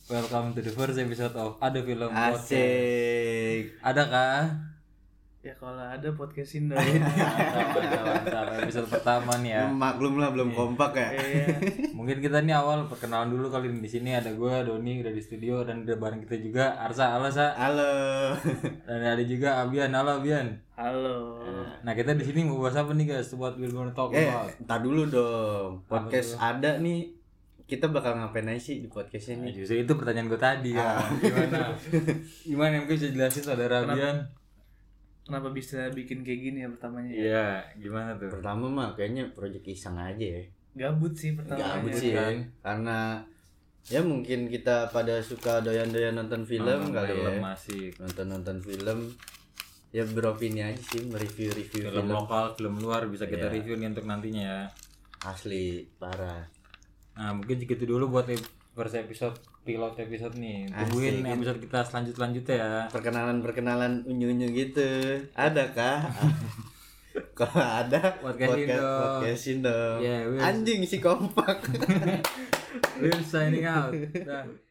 welcome to the first episode of Ada Film Podcast. Asik. Ada kah? Ya kalau ada podcastin dong. Mantap. Episode pertama nih ya. Maklum lah belum kompak ya. Iya. Mungkin kita nih awal perkenalan dulu kali ini. Di sini ada gue Doni udah di studio dan udah bareng kita juga Arsa. Halo Sa. Halo. Dan ada juga Abian. Halo Abian. Halo. Nah kita di sini mau bahas apa nih guys? What we're gonna talk about? Entar dulu dong. Podcast ada nih. Kita bakal ngapain aja sih di podcast Nah, ini? justru itu pertanyaan gue tadi ya. Gimana yang bisa jelasin saudara Abian? Kenapa bisa bikin kayak gini ya pertamanya? Iya, gimana tuh? Pertama mah kayaknya project iseng aja ya. Gabut sih pertamanya. Gabut sih ya. Karena ya mungkin kita pada suka doyan-doyan nonton film kali ya. Masih Nonton film. Ya beropini aja sih, mereview-review film film. lokal, film luar bisa kita Iya. review nih untuk nantinya ya. Asli parah. Nah mungkin segitu dulu buat first episode, pilot episode nih. Tungguin Asik. episode kita selanjutnya ya. Perkenalan unyu-unyu gitu. Adakah? Kalau ada Podcastin dong. podcastin dong. Yeah, Anjing si kompak. We're signing out. Dah.